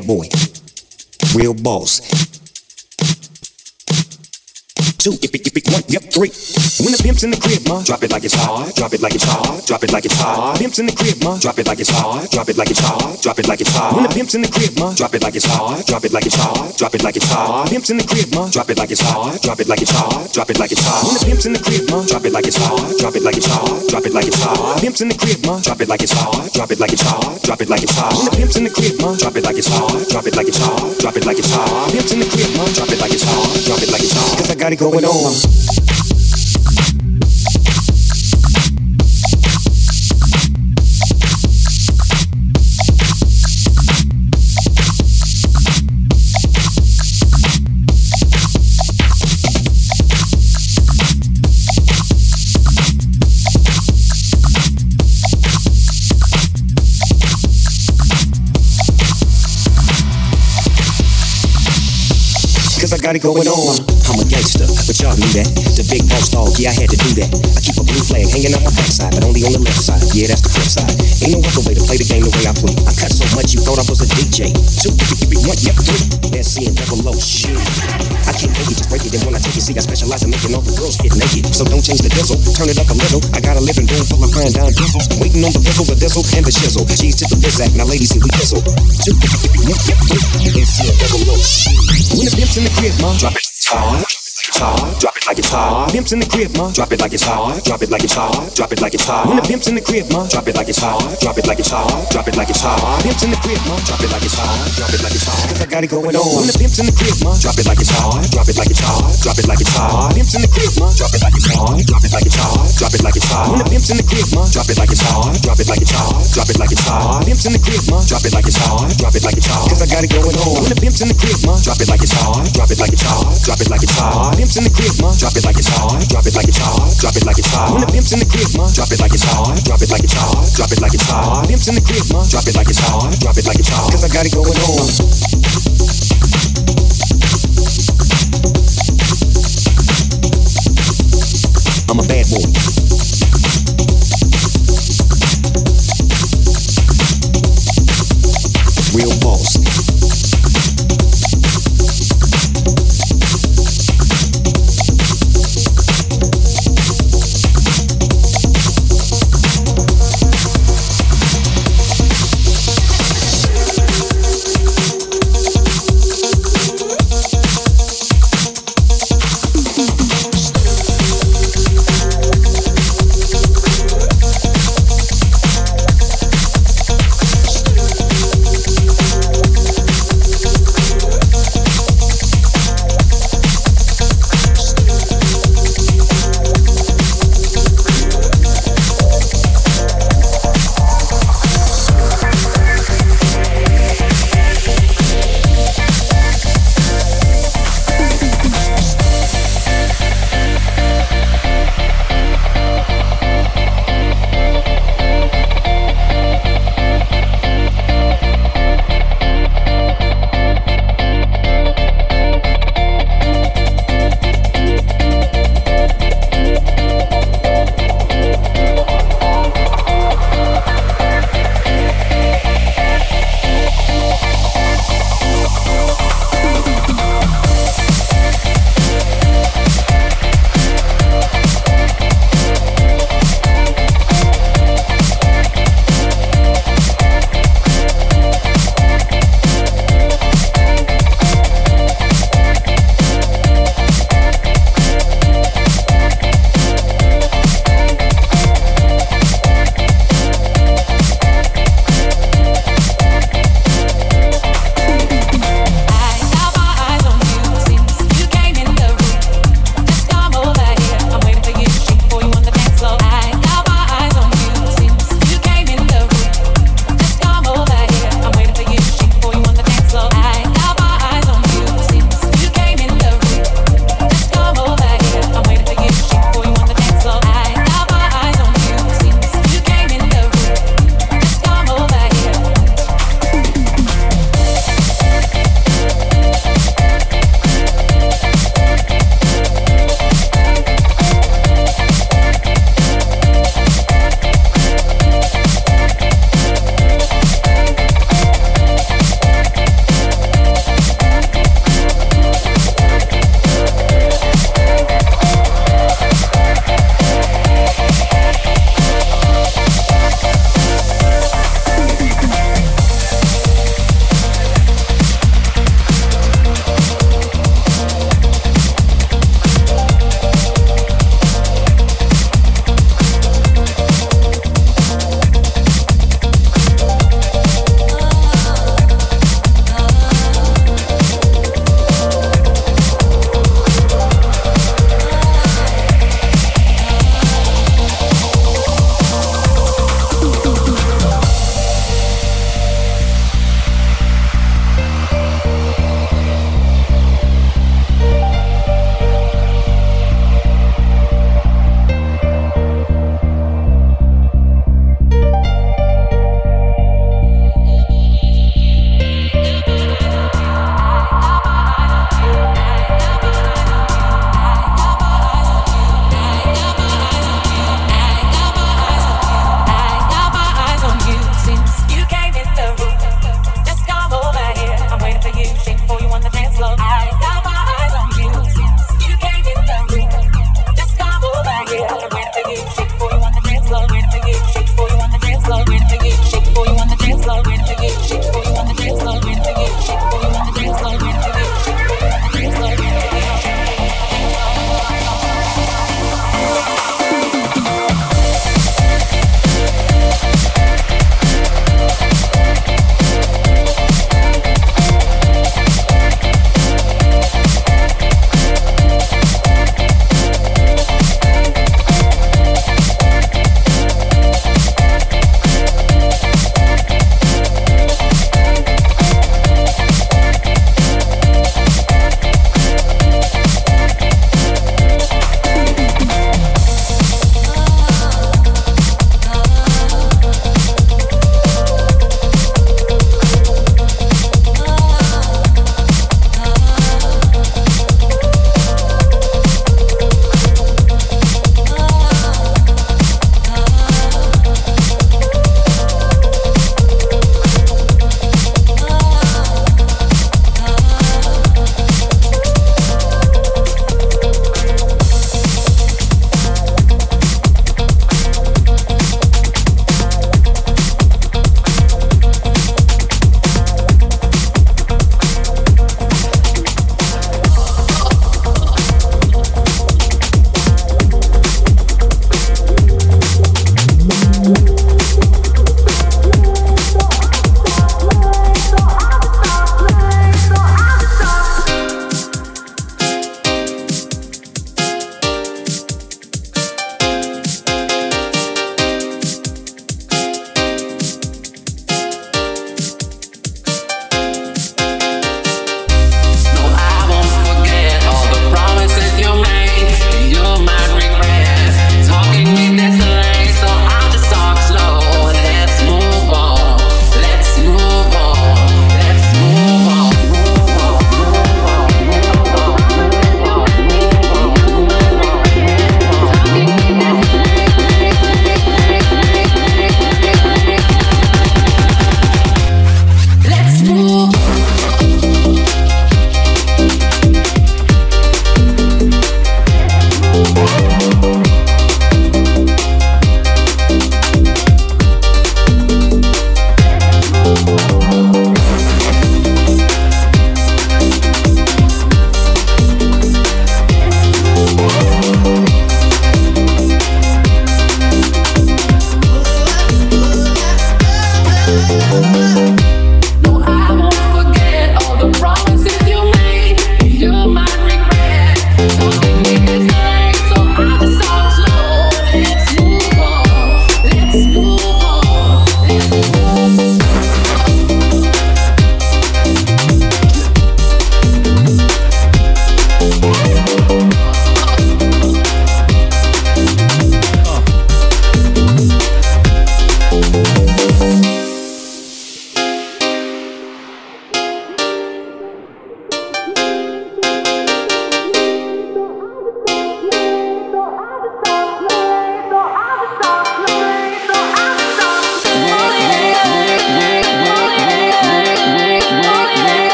bad boy, real boss. 2, if it, 1, yep, 3. When the pimp's in the crib, ma, drop it like it's hot, drop it like it's hot, drop it like it's hot. Pimp's in the crib, ma, drop it like it's hot, drop it like it's hot, drop it like it's hot. When the pimp's in the crib, ma, drop it like it's hot, drop it like it's hot, drop it like it's hot. Pimp's in the crib, ma, drop it like it's hot, drop it like it's hot, drop it like it's hot. When the pimp's in the crib, ma, drop it like it's hot, drop it like it's hot, drop it like it's hot. Pimp's in the crib, ma, drop it like it's hot, drop it like it's hot, drop it like it's hot. When the pimp's in the crib, ma, drop it like it's hot, drop it like it's hot, drop it like it's hot. Pimp's in the crib, ma, drop it like it's hot, drop it like it's hot. 'Cause I got it going on. I got it going on. I'm a gangster, but y'all knew that. The big boss dog, yeah, I had to do that. I keep a blue flag hanging on my backside, but only on the left side. Yeah, that's the flip side. Ain't no other way to play the game the way I play. I cut so much you thought I was a DJ. 2, 1, yep, 3. That's C and double O. Shit. I can't make it, just break it. And when I take it, see, I specialize in making all the girls get naked. So don't change the diesel, turn it up a little. I got a living room full of fine dime diesels. Waiting on the bizzle, and the shizzle. Cheese to the bizac, now ladies, here we fizzle. 2, 1, yep, 3. That's C and double O. When the pimp's in the crib, ma, drop it. Hard, drop it like it's hot. Pimp's in the crib, ma, drop it like it's hot. Drop it like it's hot, drop it like it's hot. When the pimp's in the crib, ma, drop it like it's hot. Drop it like it's hot, drop it like it's hot. Pimp's in the crib, ma, drop it like it's hot. Drop it like it's hot. 'Cause I got it going on. When the pimp's in the crib, ma, drop it like it's hot. Drop it like it's hot. Drop it like it's hot. Pimp's in the crib, ma, drop it like it's hot. Drop it like it's hot. Drop it like it's hot. When the pimp's in the crib, ma, drop it like it's hot. Drop it like it's hot. Drop it like it's hot. Pimp's in the crib, ma, drop it like it's hot. Drop it like it's hot. 'Cause I got it going on. When the pimp's in the crib, ma, drop it like it's hot. Drop it like it's hot. Drop it like it's hot. Pimp's in the crib, ma, drop it like it's hot. Drop it like it's hot. Drop it like it's hot. When the pimp's in the crib, ma, drop it like it's hot. Drop it like it's hot. Drop it like it's hot. Pimp's in the crib, ma, drop it like it's hot. Drop it like it's hot. 'Cause I got it going on. I'm a bad boy. Real boss.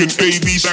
fucking babies.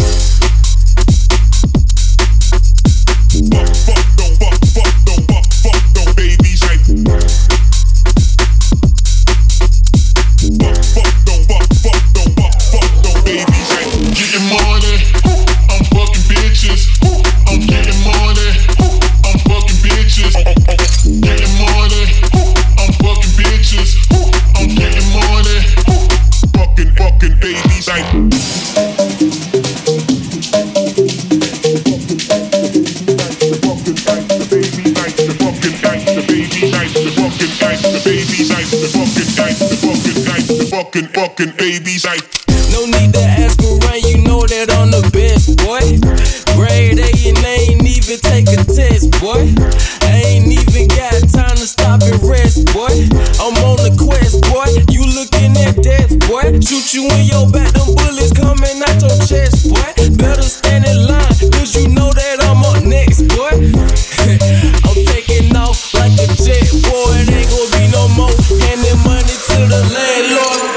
Fucking babies. No need to ask around, you know that I'm the best, boy. Grade A and I ain't even take a test, boy. I ain't even got time to stop and rest, boy. I'm on the quest, boy. You looking at death, boy. Shoot you in your back, them bullets coming out your chest, boy. Better stand in line, cause you know that I'm up next, boy. I'm taking off like a jet, boy. It ain't gonna be no more handing money to the landlord.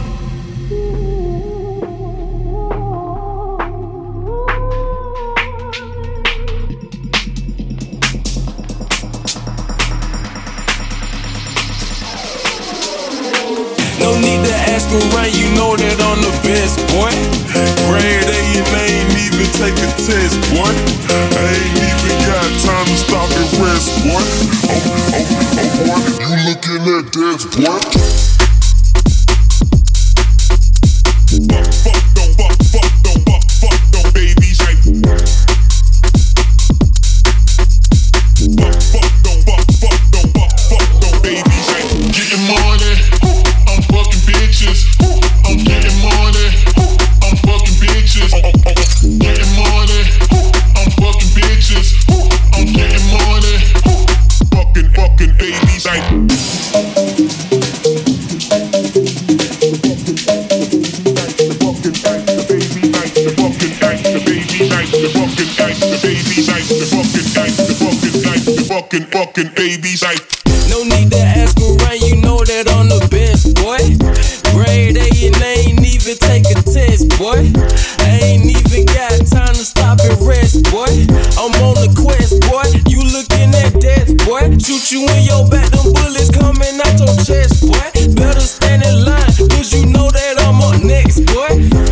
No need to ask around, you know that I'm the best, boy. Grade A and I ain't even take a test, boy. I ain't even got time to stop and rest, boy. You looking at death, boy. Fucking babies. No need to ask around, you know that I'm the best, boy. Grade A and I ain't even take a test, boy. I ain't even got time to stop and rest, boy. I'm on the quest, boy. You looking at death, boy. Shoot you in your back, them bullets coming out your chest, boy. Better stand in line, cause you know that I'm up next, boy.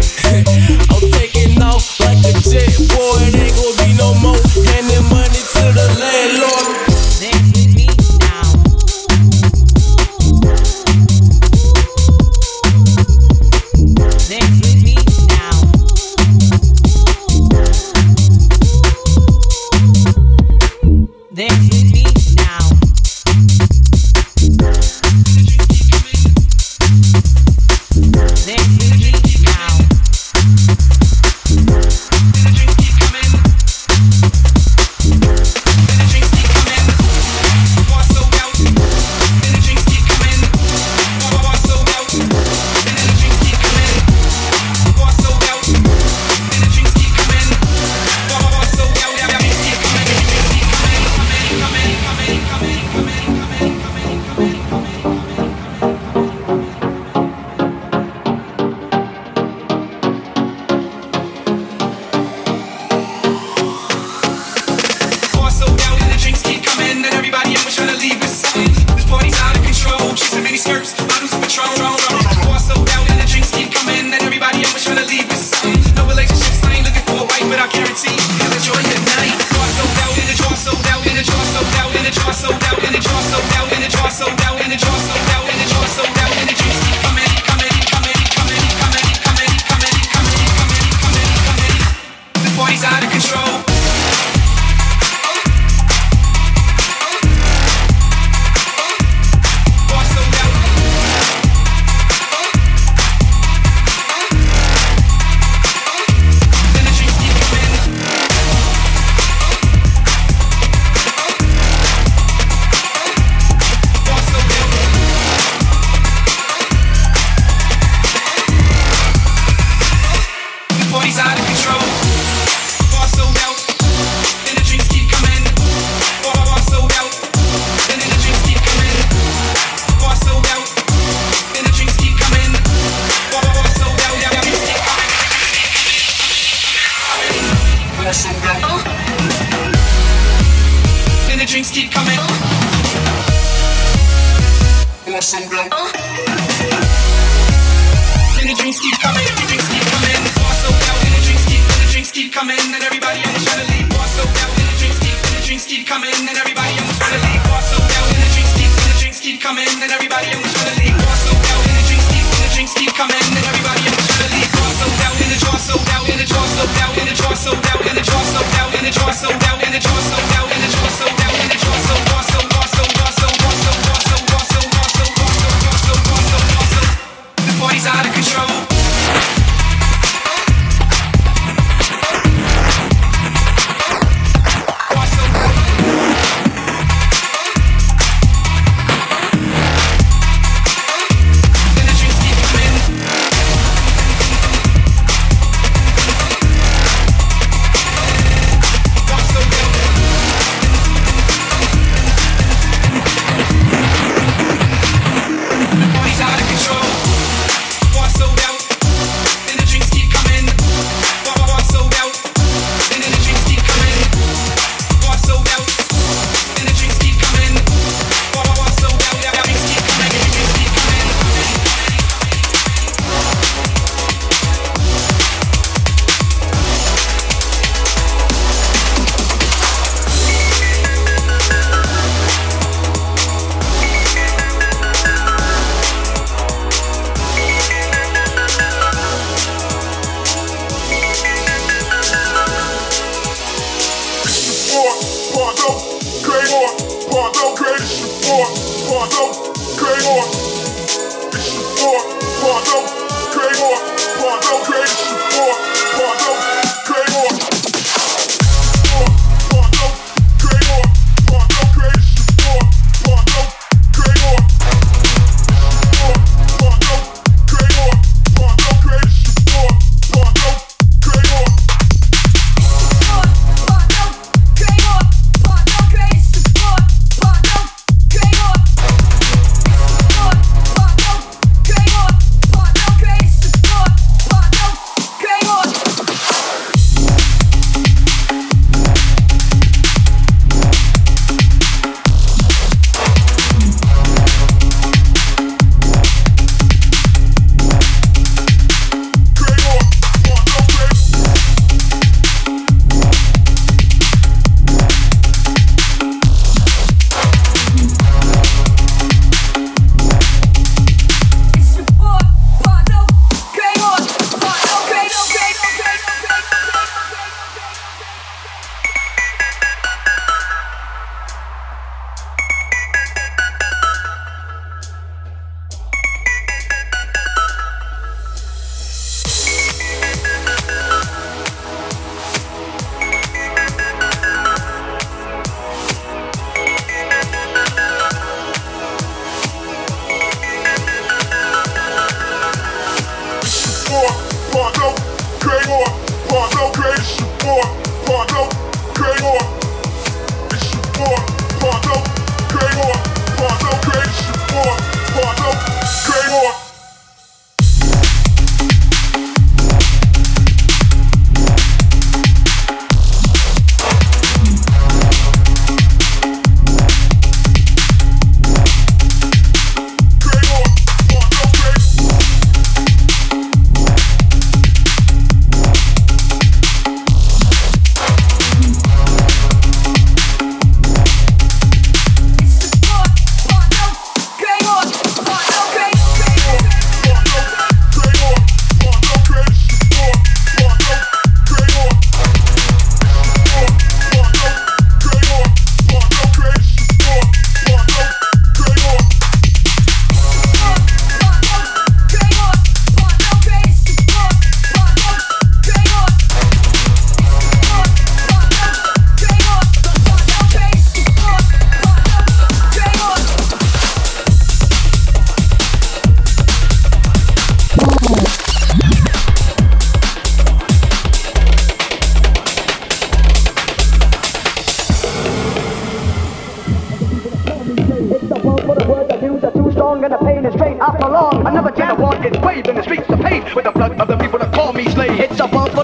I'm taking off like a jet, boy. It ain't gonna be no more handing money to the landlord. Party's out of control. Bar sold out. drinks keep coming. Sold out. And the drinks keep coming, the drinks keep coming. Bar sold out, and the drinks keep coming, and everybody almost wanna leave. Bar sold out, and the drinks keep coming, and everybody almost wanna leave. Bar sold out, and the drinks keep coming, and everybody almost wanna leave. Bar sold out, and the drinks keep coming, and everybody almost wanna leave. Bar sold out, and the jar sold out, and the jar sold out, and the jar sold out, and the jar sold out, and the jar sold out, and the jar sold out, and the jar sold out, and the jar sold out, and the jar sold this party's out of control.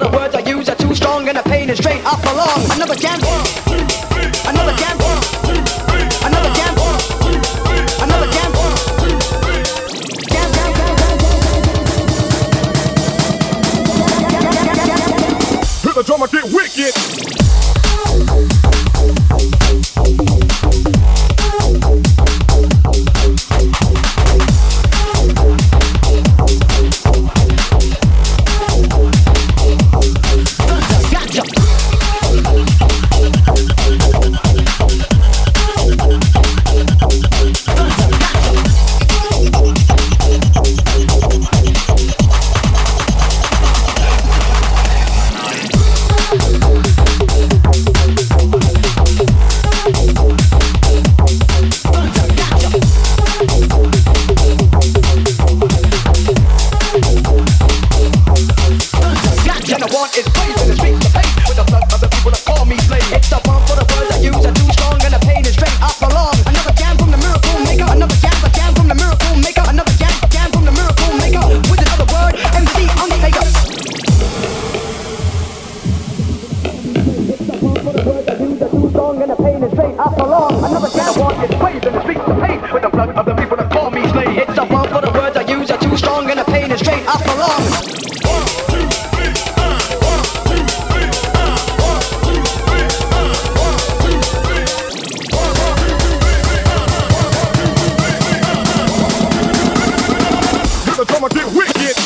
And the pain is straight up along. Another jam, another jam. strong and the pain is straight. I prolong another cat. The war gets waved in the streets of pain with the blood of the people that call me slave. It's a wrong for the words I use are too strong and the pain is straight. I prolong. I'ma get wicked.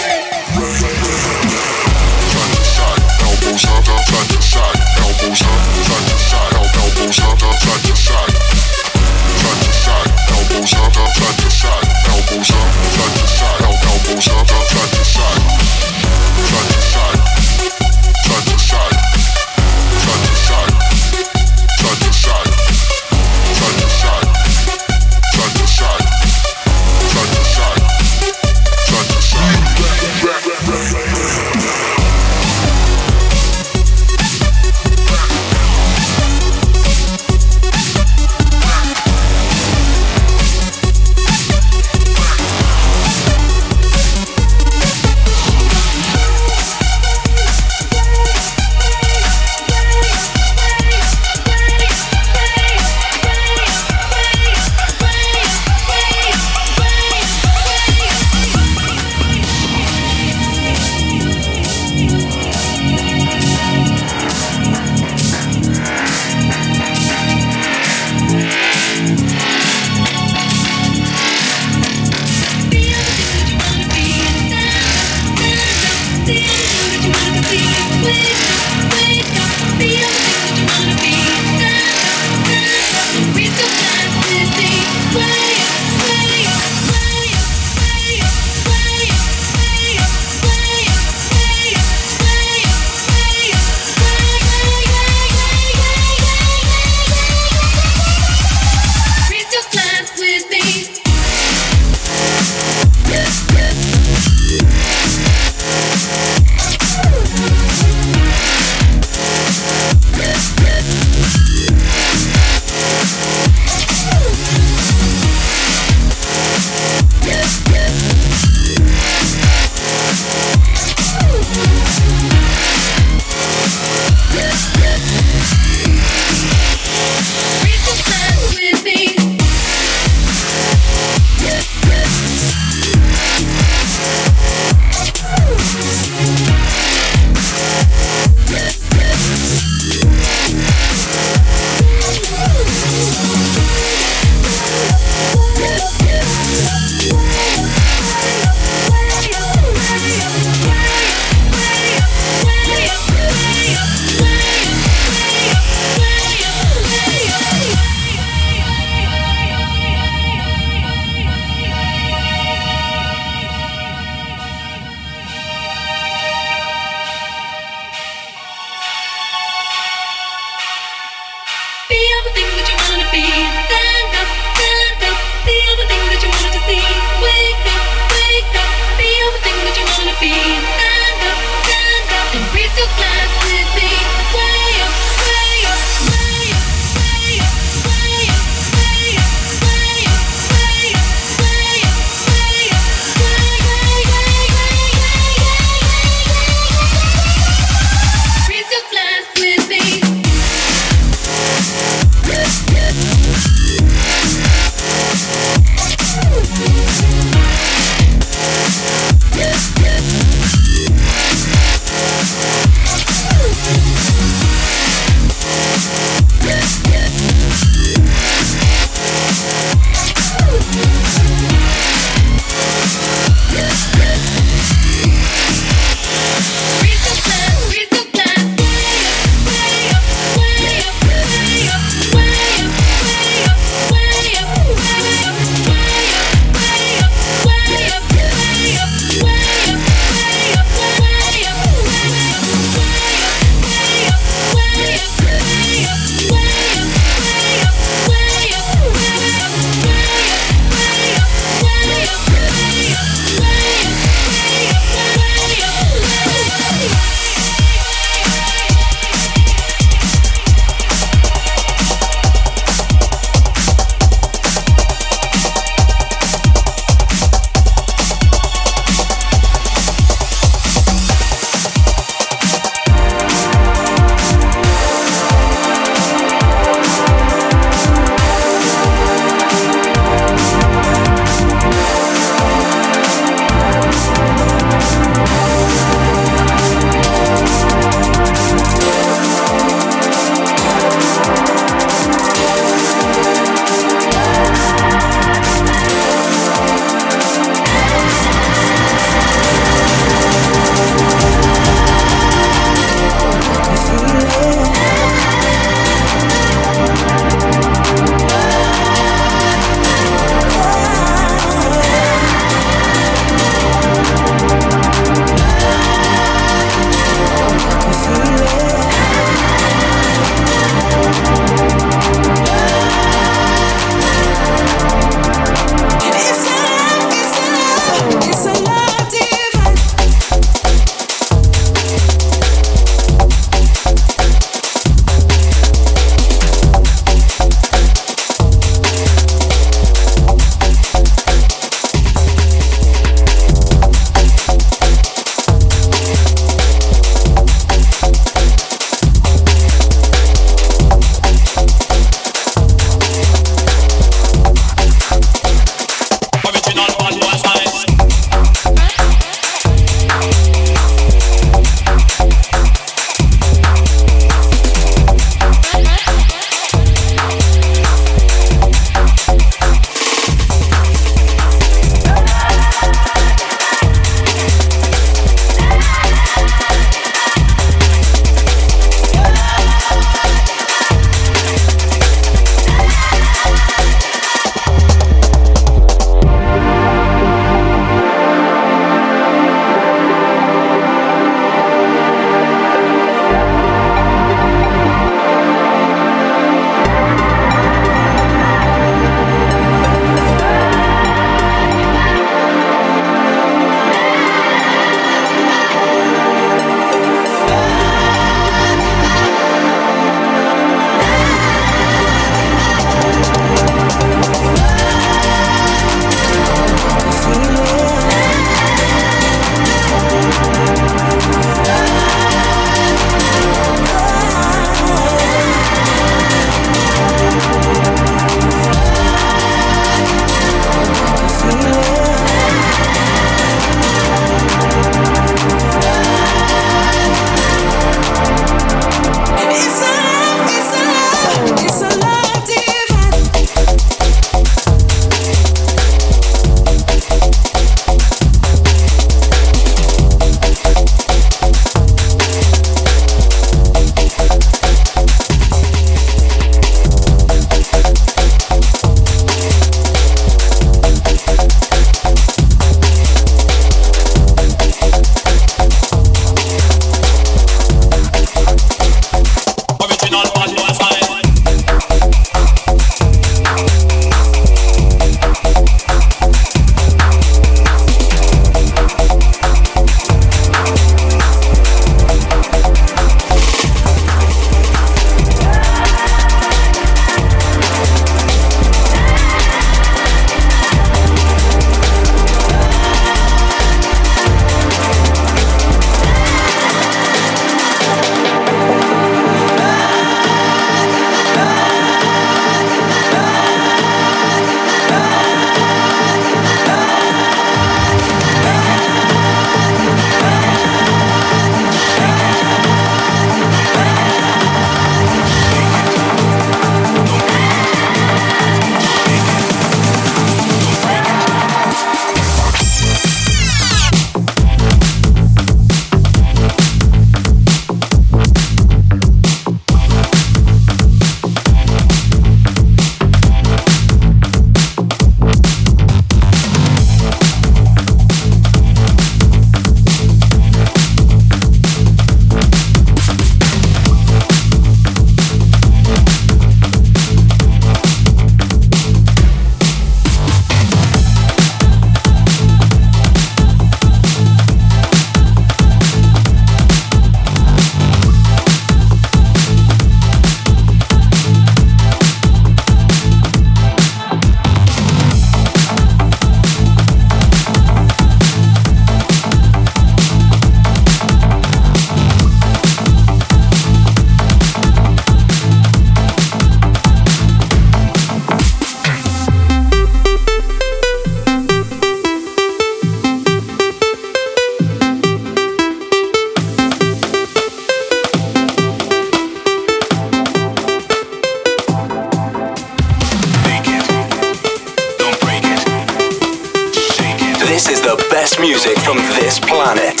best music from this planet.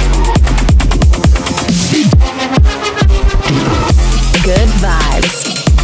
Good vibes.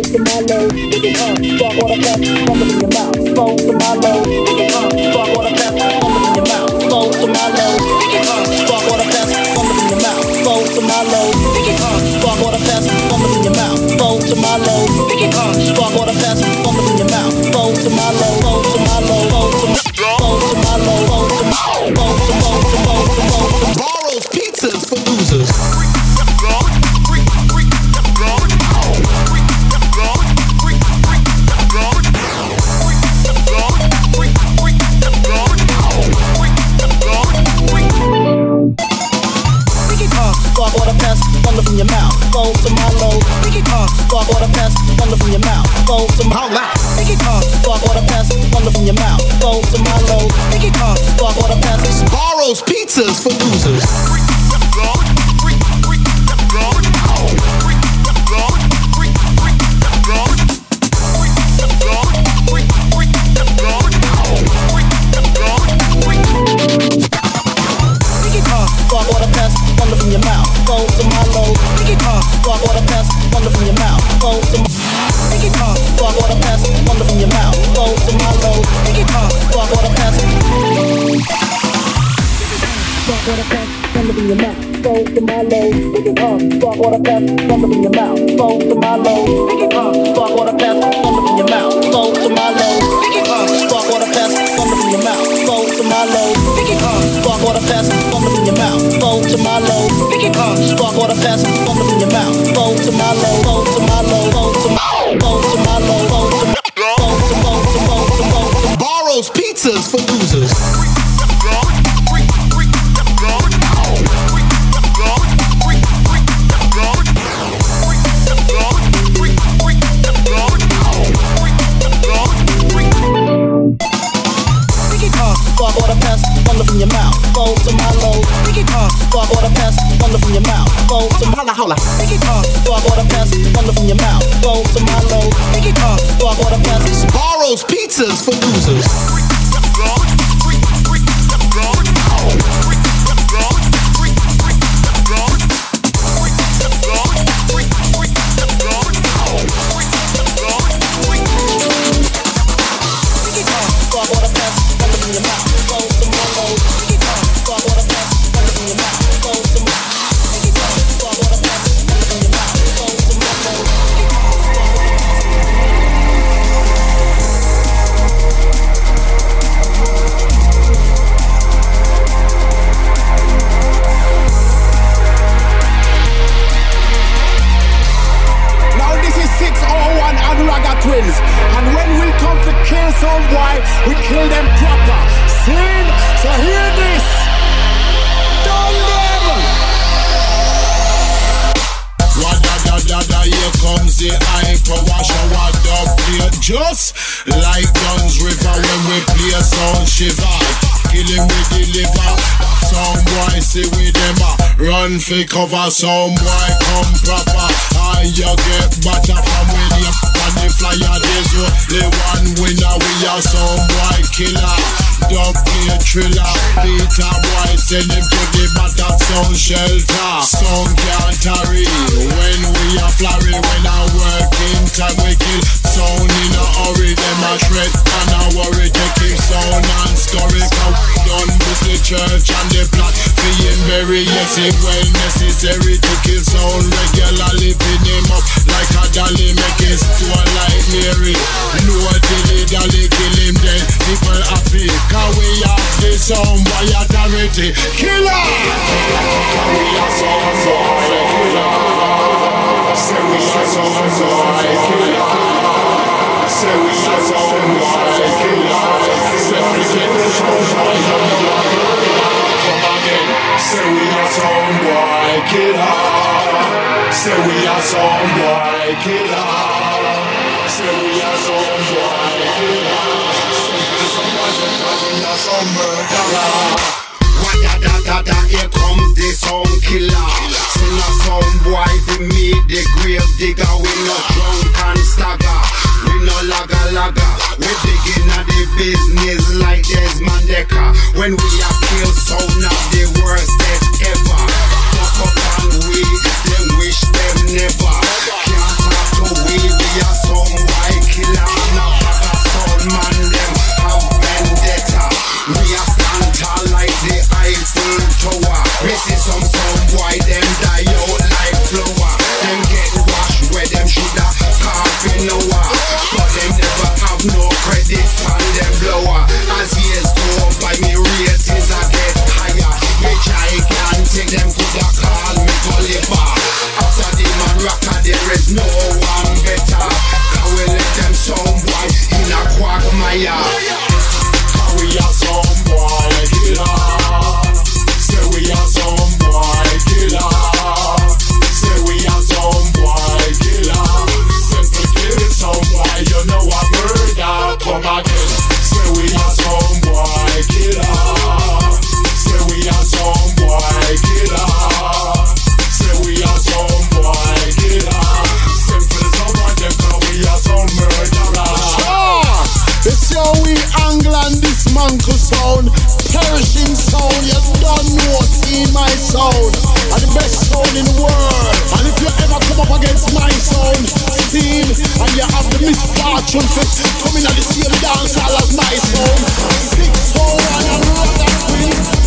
to my low, spark water pass, thunder in your mouth. Flow to my low, spark water pass, thunder in your mouth. Flow to my low, spark water pass, thunder in your mouth. Flow to my low, spark water pass, thunder in your mouth. Flow to my low, spark water pass, thunder in your mouth. Flow to my low, flow to my low, flow to my low, flow to Borrow's pizzas for losers. Spark water pass, thunder from your mouth. Flow to my low. Spark water pass, thunder from your mouth. Flow to my low. Spark water pass, thunder from your mouth. Flow to my low. Spark water pass. Borrow's pizzas for losers. Spark water pass, thunder from your mouth. Flow to my low. Spark water pass, thunder from your mouth. Flow to my spark water pass, thunder from your mouth. Flow to my low. Spark water pass. Spark water pass, thunder from your mouth. Flow to my low. Spark water pass, thunder from your mouth. Flow to my low. Spark water pass, thunder from your mouth. Flow to my low. Spark water pass, thunder from your mouth. Flow to my low. Spark water pass, thunder from your mouth. Flow to my low. Spark water pass, thunder from your mouth. Flow to my low. Flow to my low. Flow to my low. Flow to Borrow's pizzas for losers. Spark water pass, thunder from your mouth. Flow to my low. Spark water pass, thunder from your mouth. Flow to my holla. Spark water pass, thunder from your mouth. Flow to my low. Spark water pass. Borrow's pizzas for losers. Twins. And when we come to kill some boy, we kill them proper. Sin, so hear this. Done them. Wada, here comes the hyper wash and wada play just like Guns River when we play sound shiver. Killing we deliver. Some boy say we them run for cover. Some boy come proper. And you get better from when you on the flyer. There's only one winner. We are some boy killer. Don't play thriller. Peter boy send him to the battle sound shelter. Some can't tarry when we are flurry. When I work in time we kill. Sound in a hurry. Them a shred and a worry. Take him sound and story. Done with the church and the plot. Being very yes it well necessary to kill sound regularly. Pin him up like a dolly. Make it to a like Mary. No dilly dally kill him dead. People happy. Cause we have the sound by authority. Killer! We are sound boy killer. Say we are sound boy killer. Say we are sound boy killer. Say we are sound boy killer. Come again. Say we are sound boy killer. Say we are sound boy killer. Say we are sound boy killer. We are some murderer. Wada, here comes the sound killer. Sing a sound boy to me, the grave digger. We no drunk and stagger. We no laga. We digging at the business like Desmond Decker. When we are kill sound of the worst death ever. Fuck up and we, them wish them never. Can't talk to we are Eiffel Tower. Me see some boy them die out like flower. Them get washed where them shoulda coffee lower, but them never have no credit on them blower. As years go by, me ratings a get higher. Me gigantic, them coulda call me Gulliver. After the man rocker, there is no one better. Can we let them some boy in a quagmire? Can we have some boy killer? Say we have some boy killer. Say we have some boy killer. Simple kill some boy, you know a murder. Come again. Say we have some boy killer. Say we have some boy killer. Say we have some boy killer. Simple someone them cause we are some murderers. It's your we angle and this manco sound, perishing sound. You don't know, see my sound, and the best sound in the world. And if you ever come up against my sound, steam, and you have the misfortune to come in at the same dance hall as my sound, 601 and rock that queen.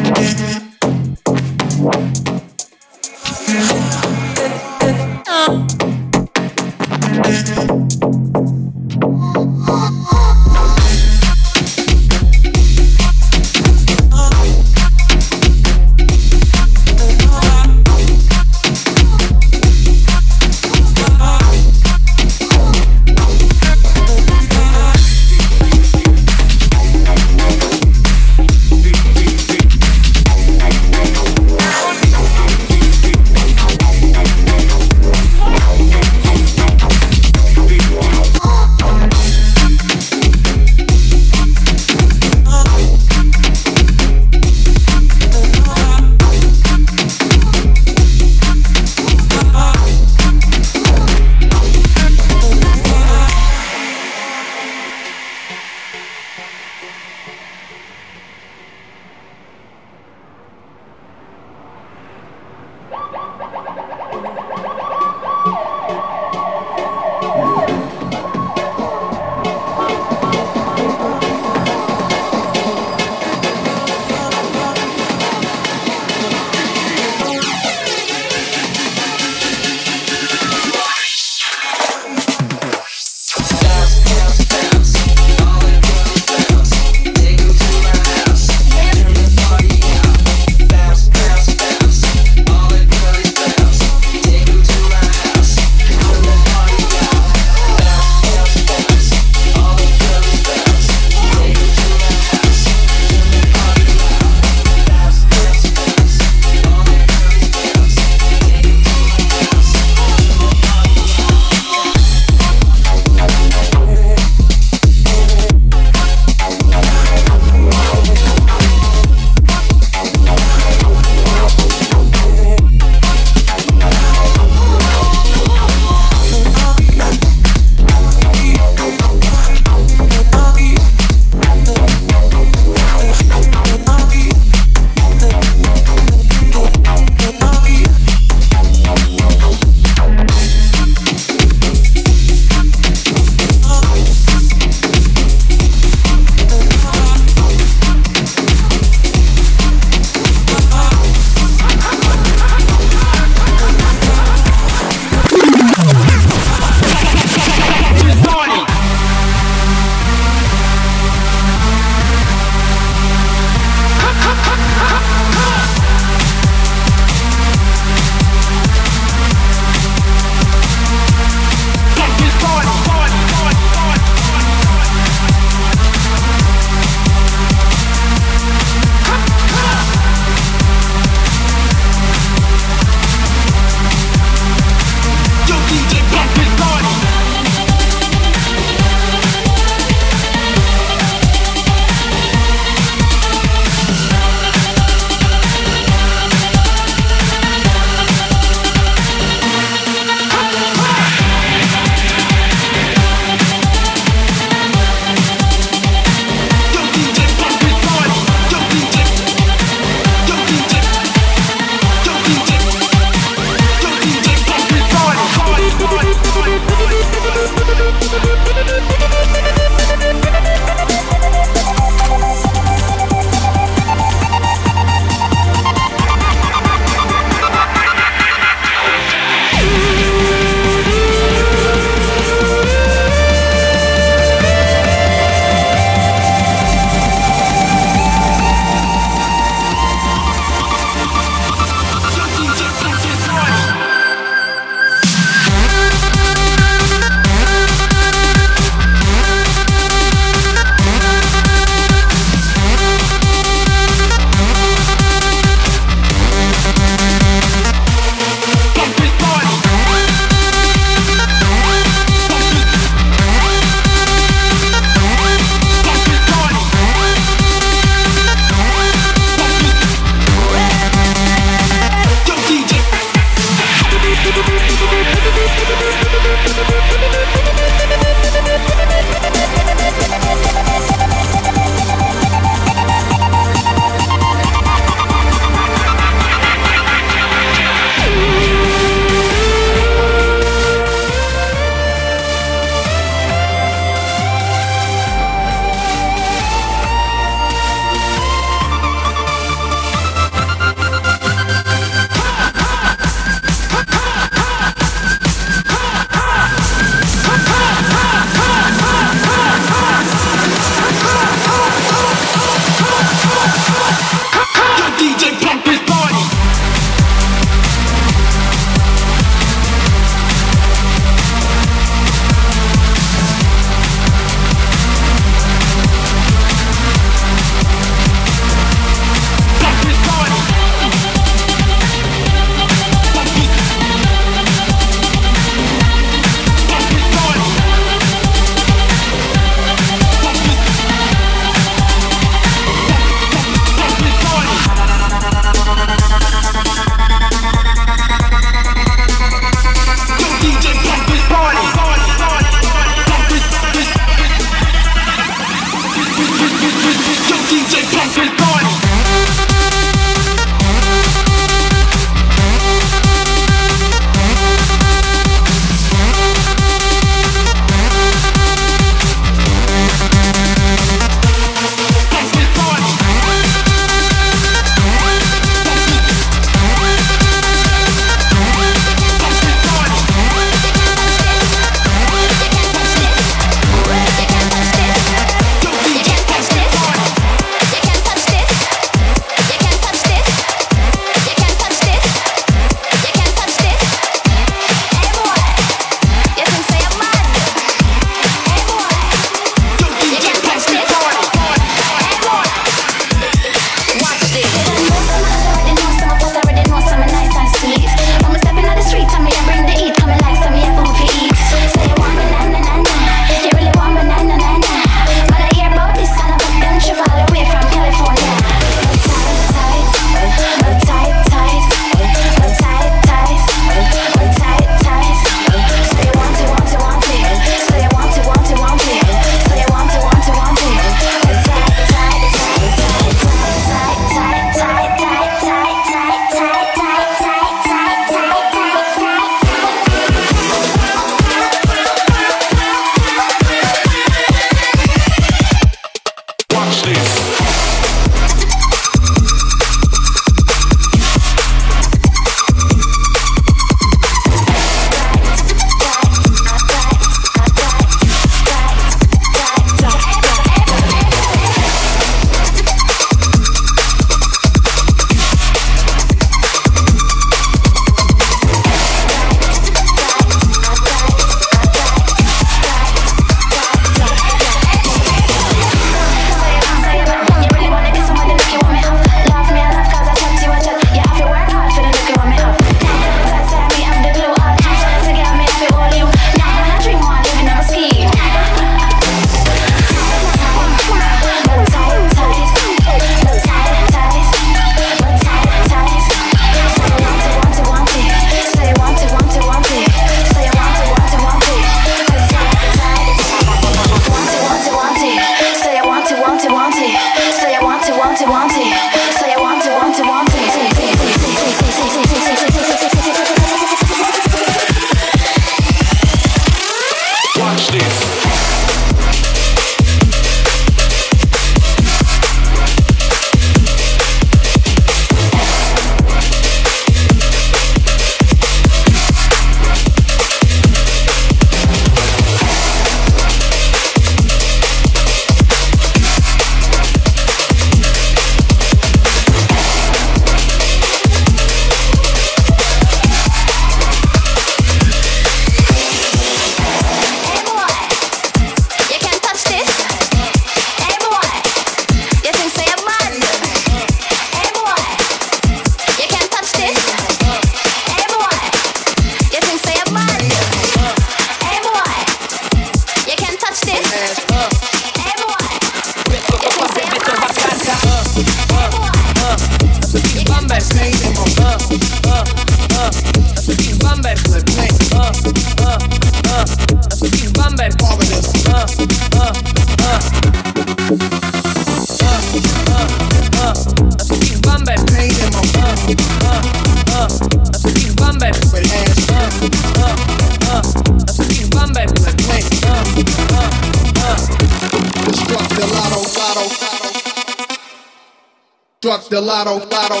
Struck the lotto, lotto,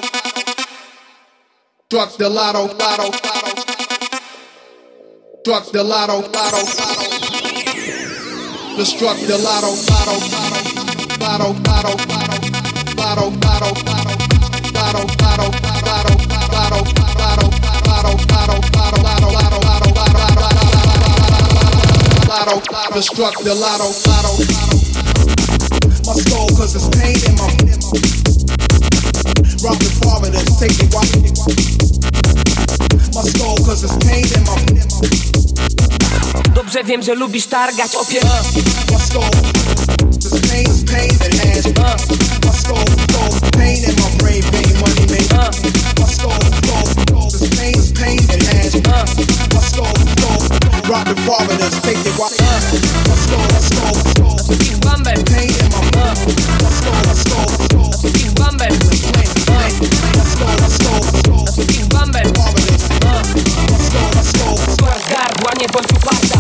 struck the lotto, lotto, struck the lotto, lotto, just struck the lotto, lotto, lotto, lotto, lotto, lotto, lotto, lotto, lotto, struck the lotto, lotto. My soul, cause it's pain in my rock the foreigners, take the rock. My soul, cause it's pain in my. Dobrze wiem, że lubisz targać opier. My soul, this pain is pain that has. My soul, pain in my brain, vein, money made. My soul, this pain is pain that has. My soul, rock the foreigners, take the rock. My soul, Bumble. pain in my. My soul, Bumble. Bumble. Skład gardła, nie bądź uparta.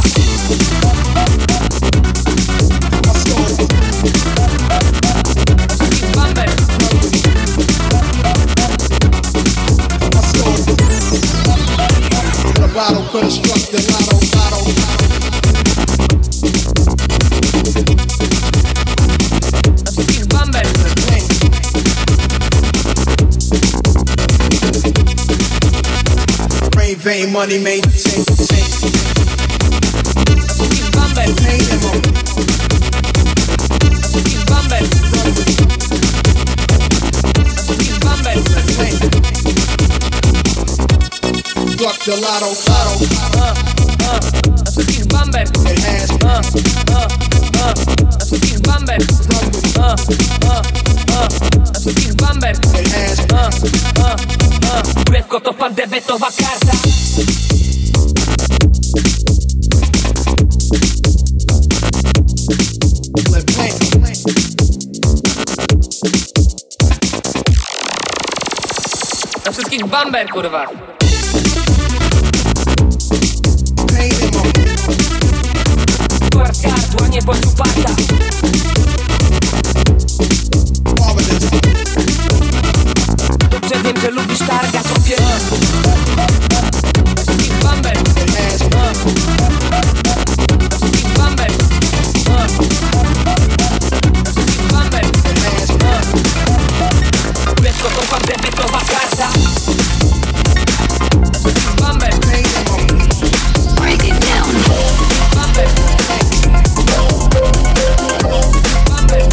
Bumble. The bottle could have struck the lotto, lotto. Bumble. Brain vein, money made. Bumble. Pain in my. Bumble. Bumble. Struck the lotto, lotto. Bumble. It has. Bumble. Bumble. It has. Lekko to pan debetowa karta. Na wszystkich bumber, kurwa. Pain in my. Skład gardła, nie bądź uparta. Foreigners. Dobrze wiem, że lubisz targać opier. Bumber. It has. Bumber. Bumber. It has. Lekko to pan debetowa karta. Bumber. Pain in my. Break it down. Bumber. Bumber.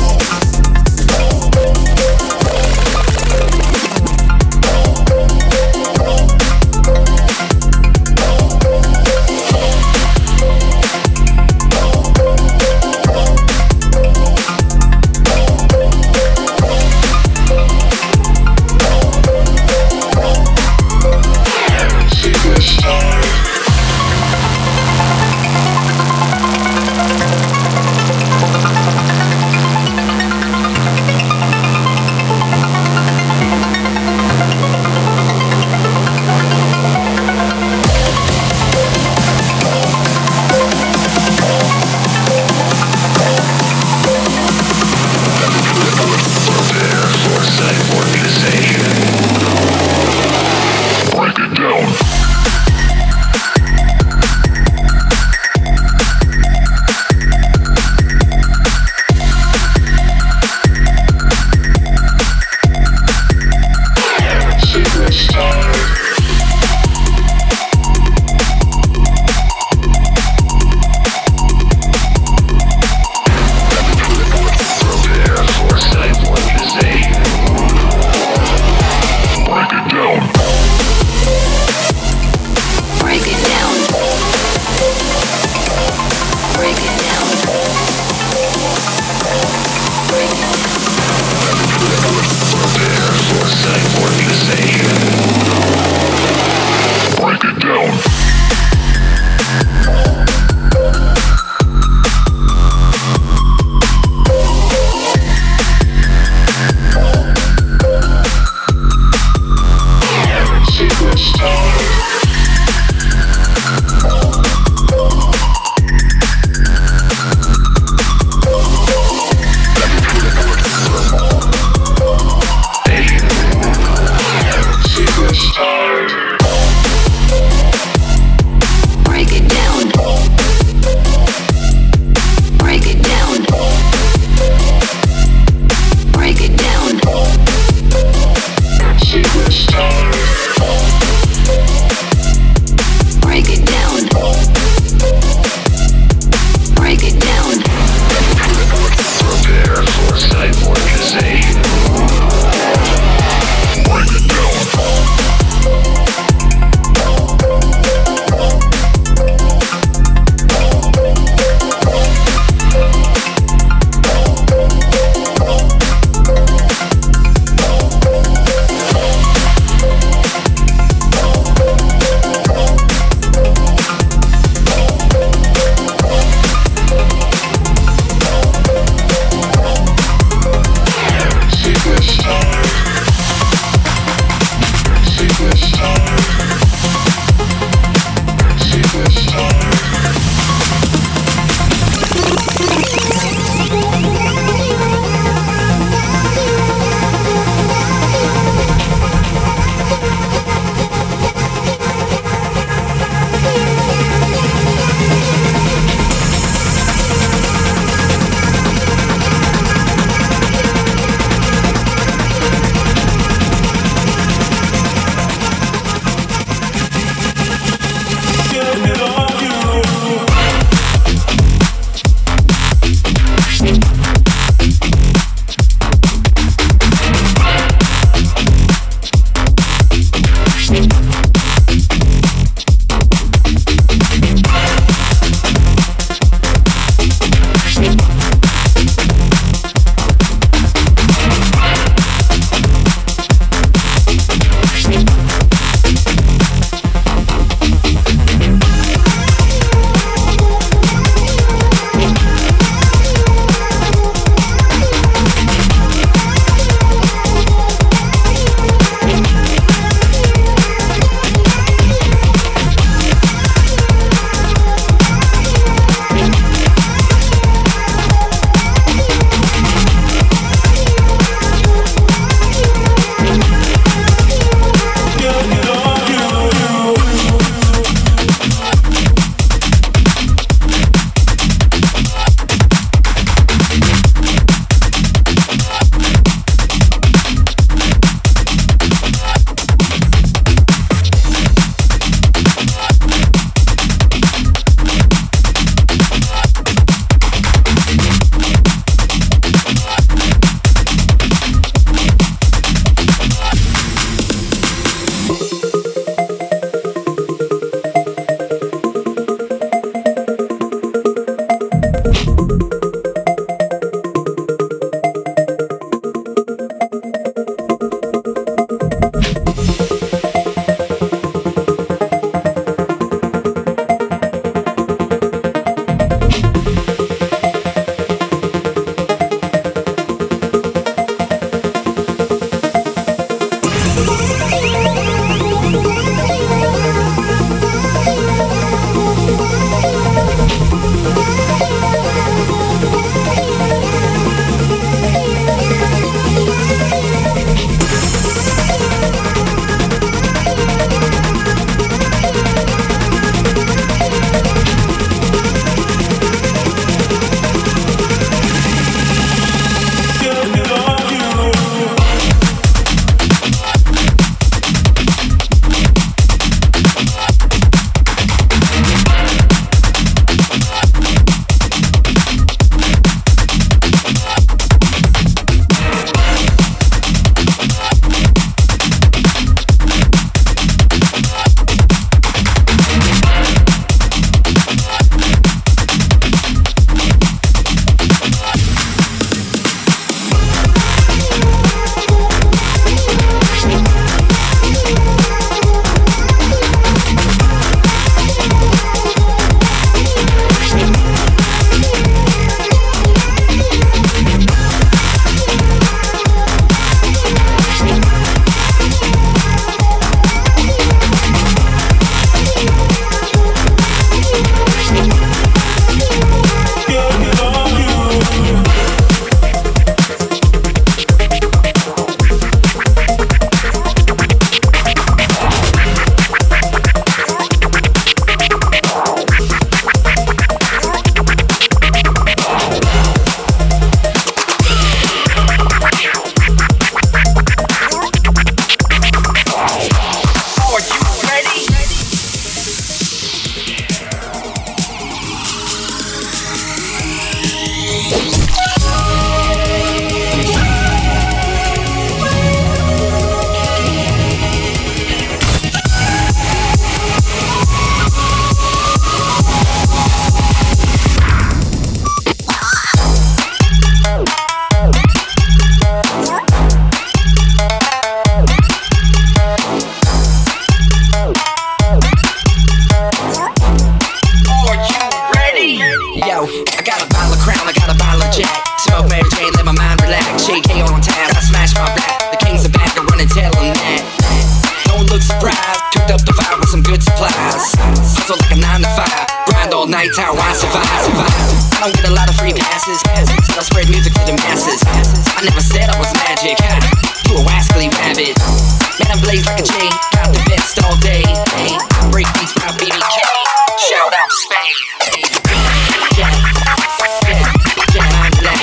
I don't get a lot of free passes, so I spread music to the masses. I never said I was magic, you a wascally rabbit. Man, I blaze like a J, got the best all day. Hey, break beats by BBK, shout out to Spain. Hey, yeah, I'm black.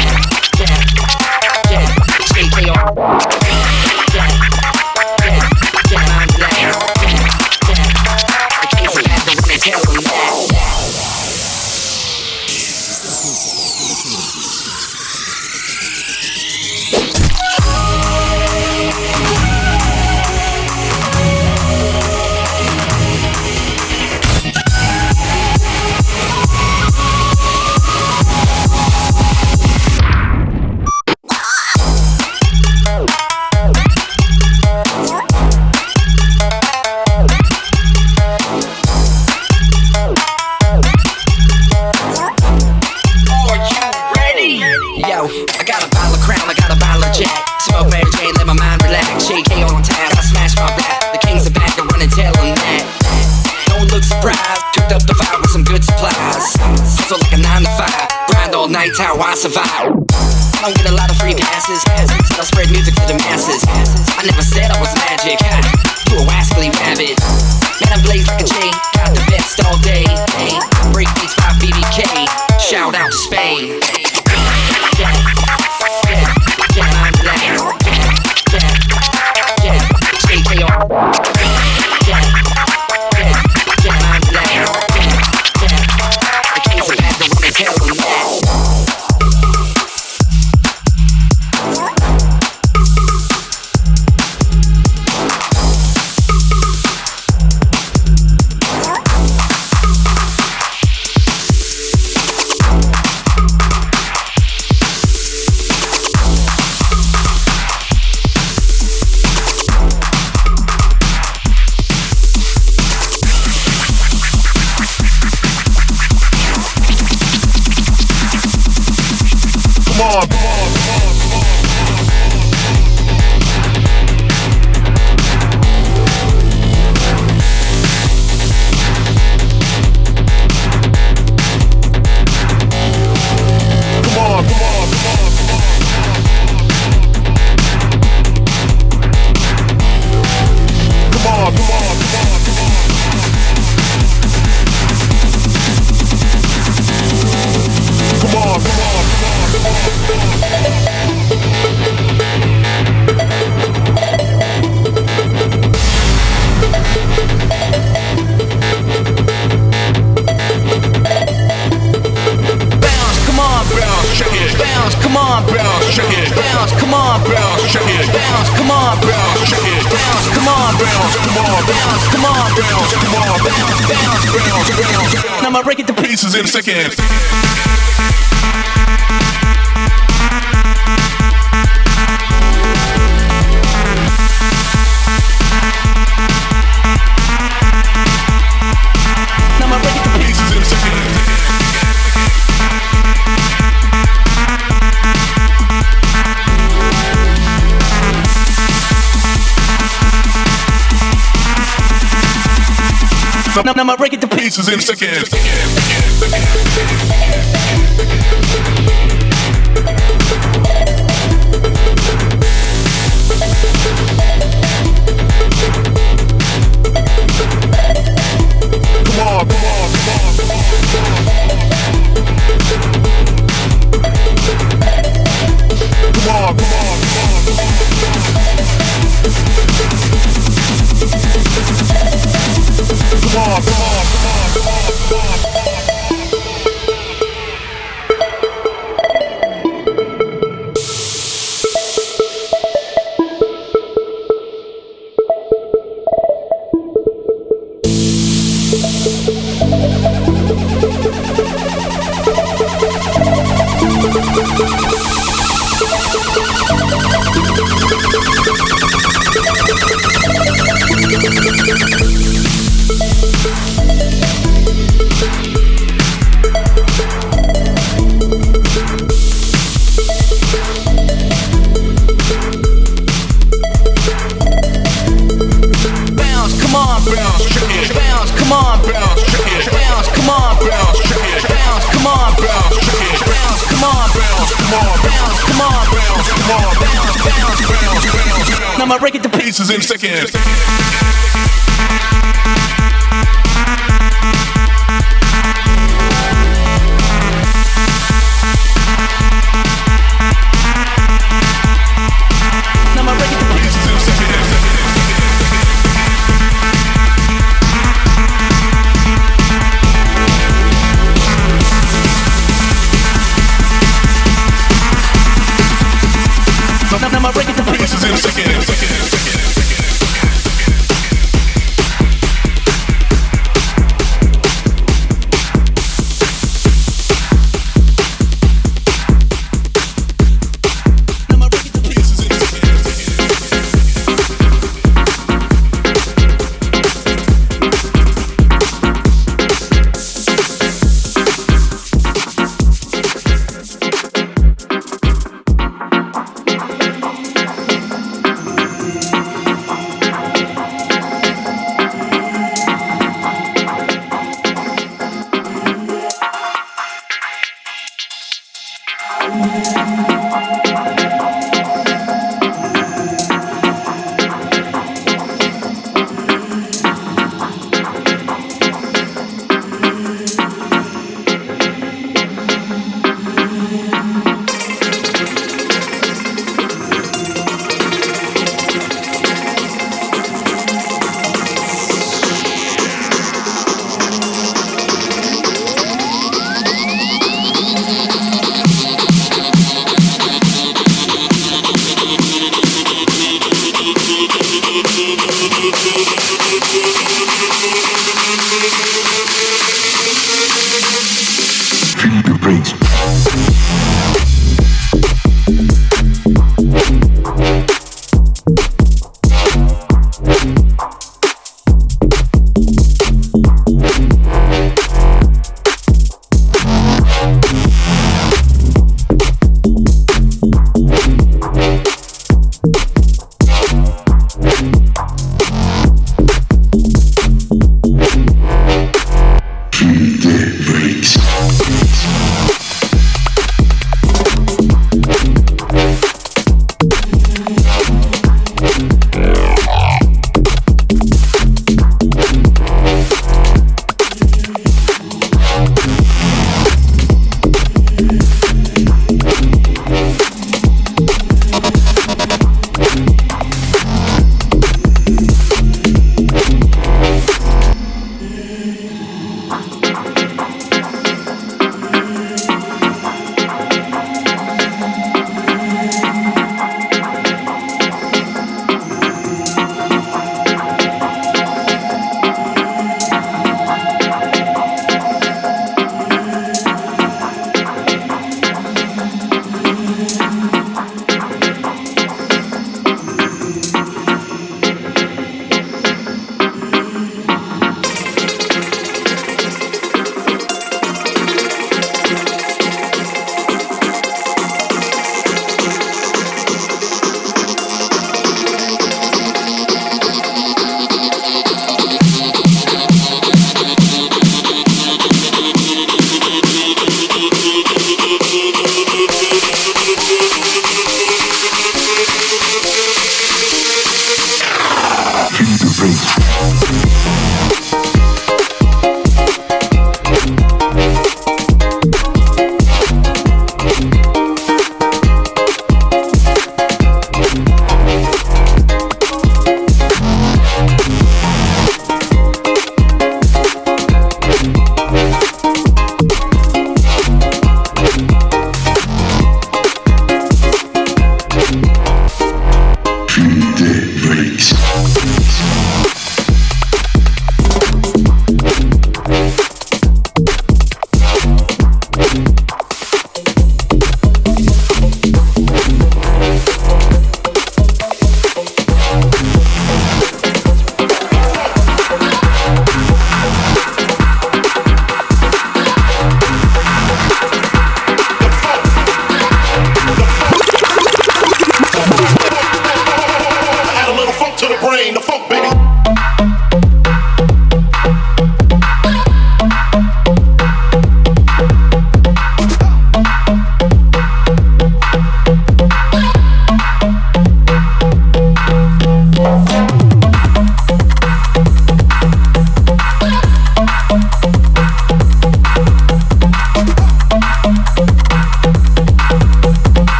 Yeah, JKR. I'm black. I can't say that, but when they tell them that. Nights how I survive. I don't get a lot of free passes, so I spread music to the masses. I never said I was magic, you a wascally rabbit. Man, I blaze like a J, got the best all day. Hey, break beats by BBK, shout out to Spain. Yeah, I'm black. Yeah, JKR. Yeah, I'm black. I can't say that, but when they tell them that. I'ma break it to pieces in a second. I'ma break it to pieces in a second. I'ma break it to pieces in a second. I'ma break it to pieces in seconds. I'ma break it to pieces in a second.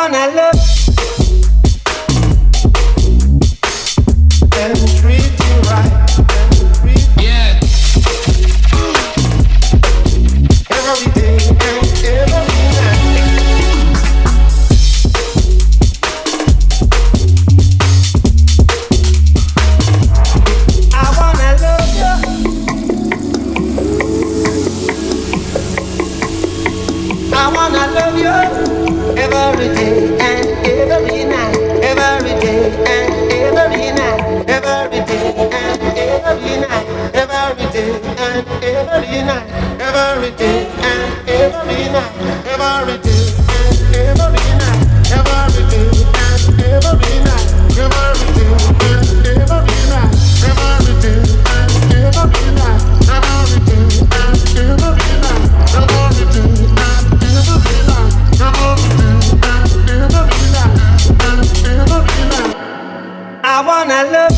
wanna love and treat you right. Yeah. Every day and every night. I wanna love you. I wanna love you every day and every night. Every day and every night. Every day and every night. Every day and every night. Every day and every night. Every day and every night. Every day and every night. Every day and every night. Every day and every night. Every day and every night. Every day and every night. I wanna love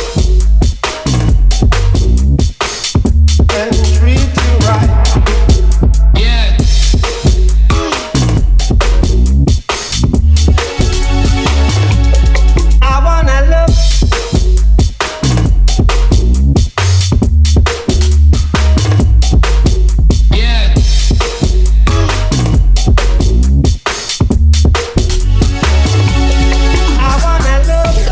and treat you right. Yeah. I wanna love yeah. I wanna love you.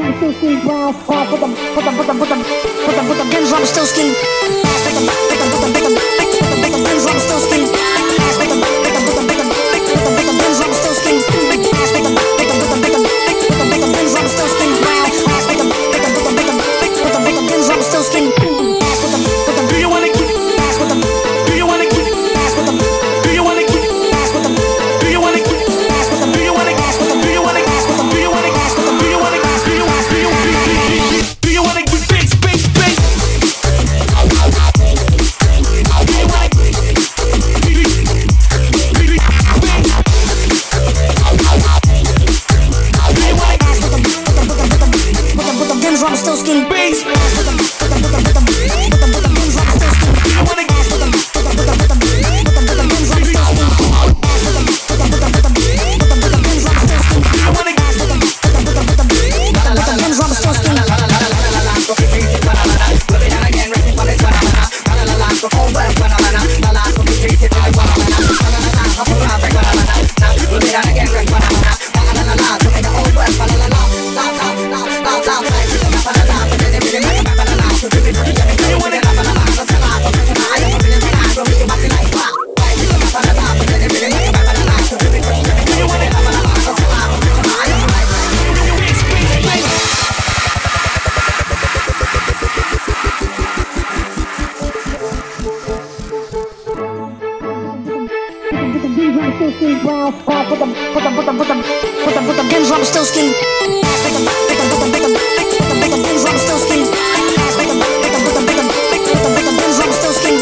still skin brown. Put them guns on still skin. Put them guns on still skin. Put them guns on still skin. Put them guns on still skin brown. Put them guns on still skin. Do you wanna keep? Put them. Do you wanna keep? Put them. Do you wanna keep? Put them. Do you wanna keep? Put them. Do you wanna gas? Put them. Do you wanna gas? Put them. Do you wanna gas? Put them. Do you wanna gas? Do you want? Do you wanna keep bass? Bass? Bass? I'm still skin bass. Put them guns on still skin. You wanna gas? Put them guns on still skin. Put them guns on still skin. You wanna gas? Put them guns on still skin. Put them guns on still skin. Put them guns on still skin. Put them guns on still skin. Put them guns on still skin.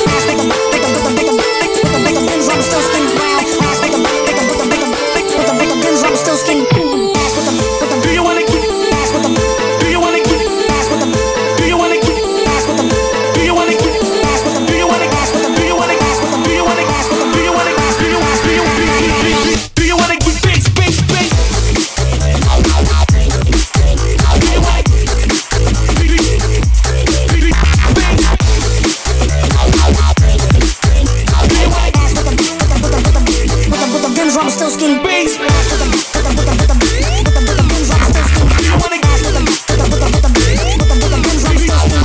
Do you wanna keep? Put them. Do you wanna keep? Put them. Do you wanna keep? Put them. Do you wanna keep? Put them. Do you wanna gas? Put them. Do you wanna gas? Put them. Do you wanna gas? Put them. Do you wanna gas? Do you want? Do you wanna keep bass? Bass? Bass? I'm still skin bass. Put them guns on still skin. You wanna gas? Put them guns on still skin. Put them guns on still skin.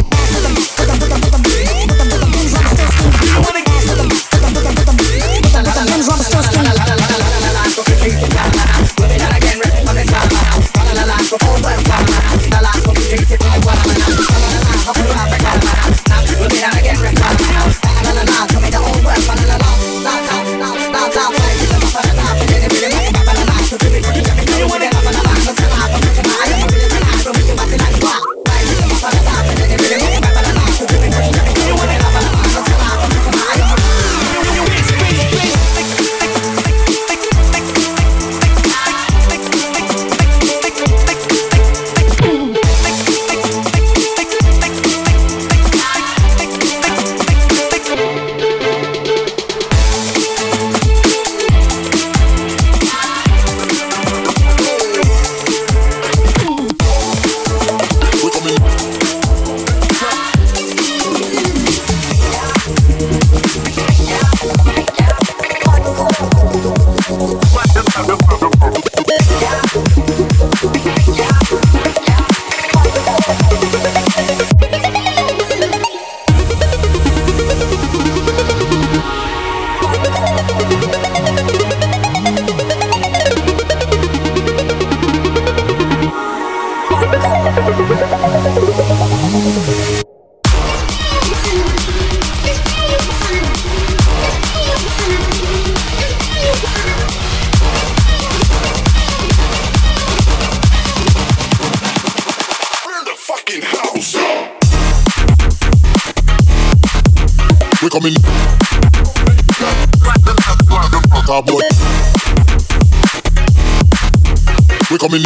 You wanna gas? Put them guns on still skin. We coming. We coming.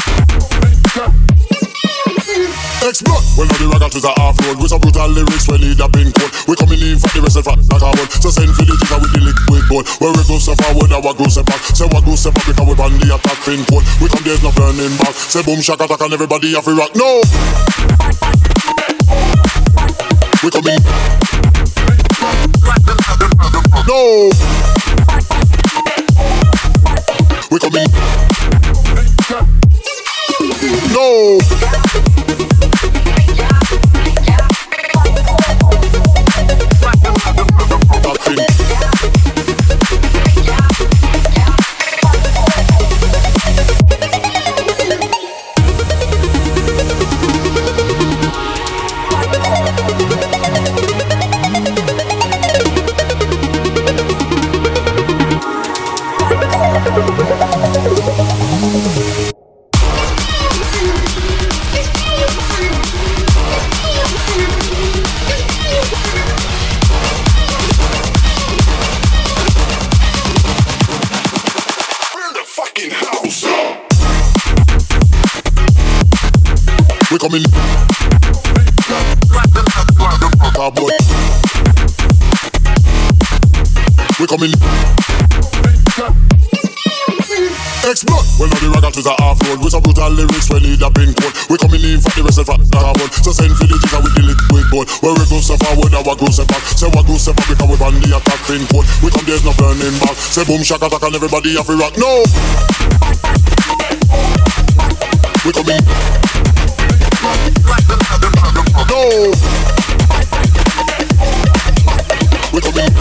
Explode. Well, now the ragga to the half-road with some brutal lyrics when need a pink code. We coming in for the rest of the carbon. So send for the jigger with the liquid gold. Where we go step forward, now we go step back. Say what go step back because we ban the attack pin code. We come there's no turning back. Say boom shaka attack and everybody have to rock. No. We coming. No. We coming. No. Coming we coming X-Blood. Well, now the raggers are half-road with some brutal lyrics when need a pink code. We coming in for the rest of the carbon. So send villages and we the liquid gold. Where we go so forward, our go so back. Say what go so back because we ban the attack pin code. We come there's no turning back. Say boom shaka attack and everybody have to rock. No. We coming. No. We coming.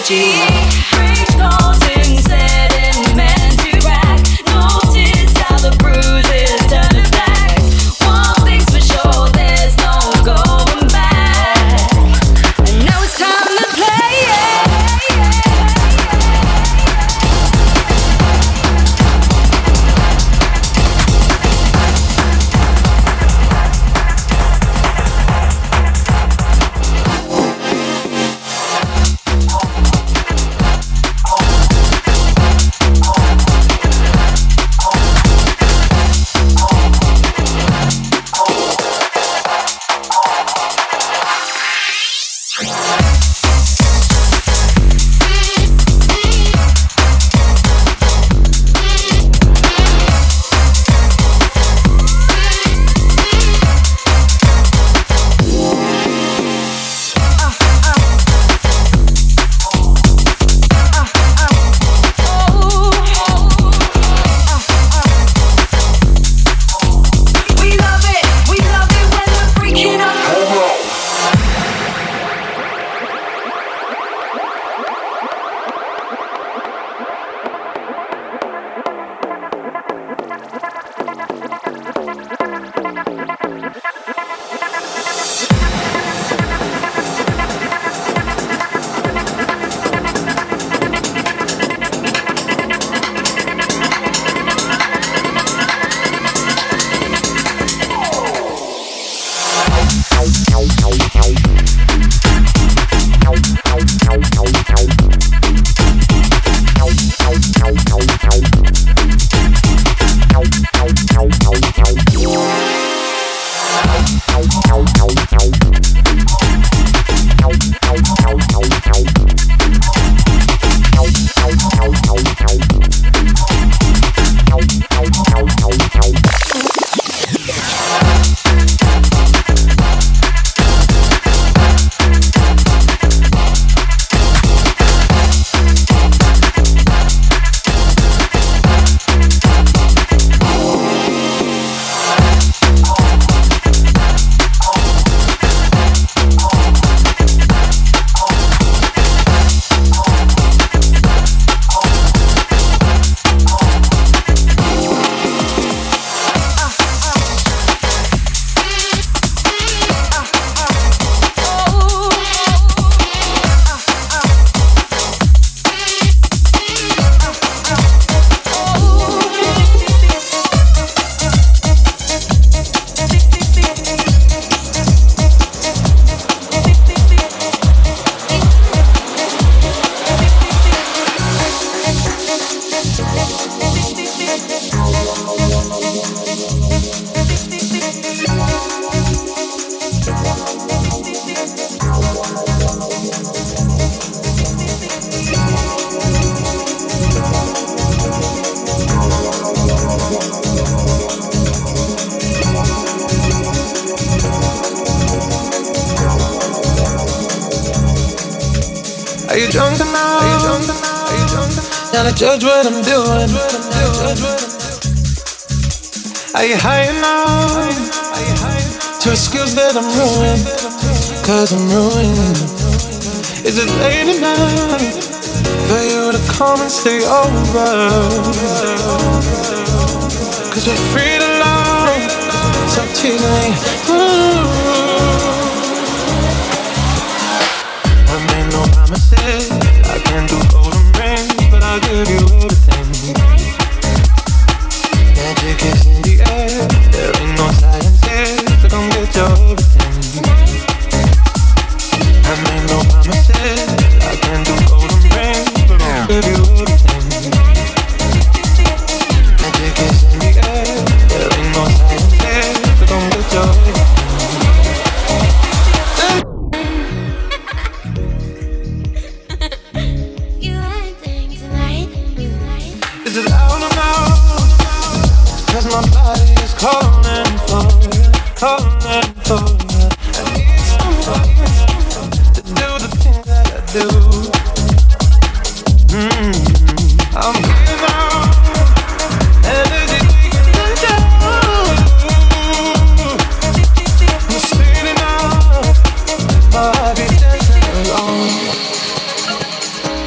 Are you drunk enough? Now to judge what I'm doing. Are you high enough to excuse that I'm ruined? Cause I'm ruined. Is it late enough for you to come and stay over? Cause we're free to love, so tease me. I made no promises, I can't do golden rings, but I'll give you everything. Magic is in the air, there ain't no science here, so come get your everything. I made no promises, I can't do golden rings, but I'll give you everything. Magic is in the air, there ain't no science here, so come get your everything. Is it out or no? Cause my body is calling for you, calling for you. I need somebody to do the things that I do. I'm here now, energy taking control. I'm speeding up, my heart is dancing alone.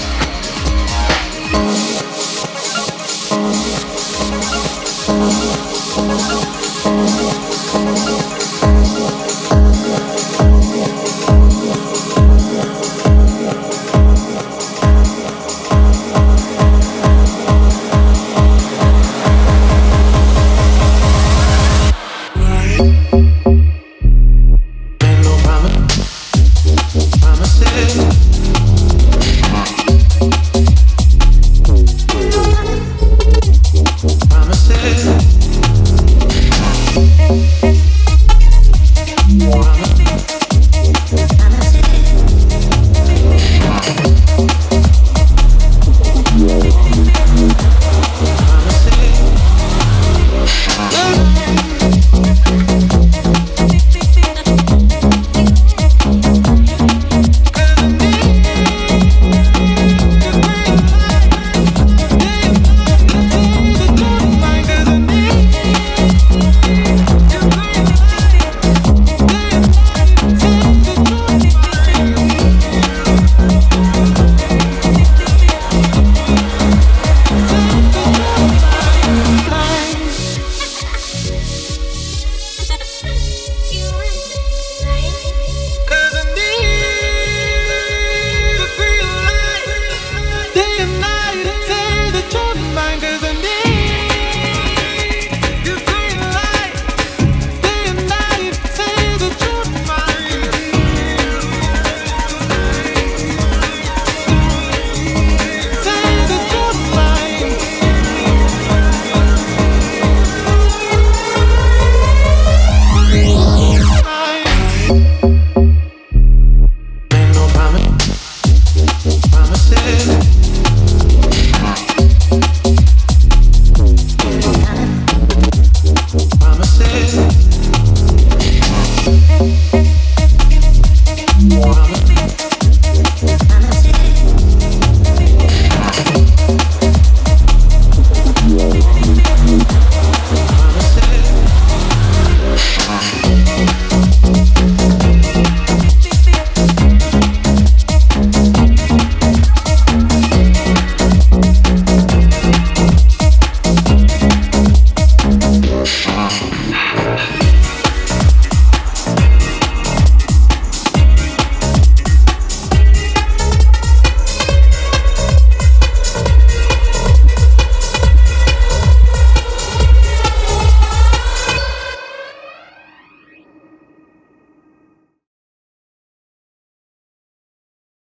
head.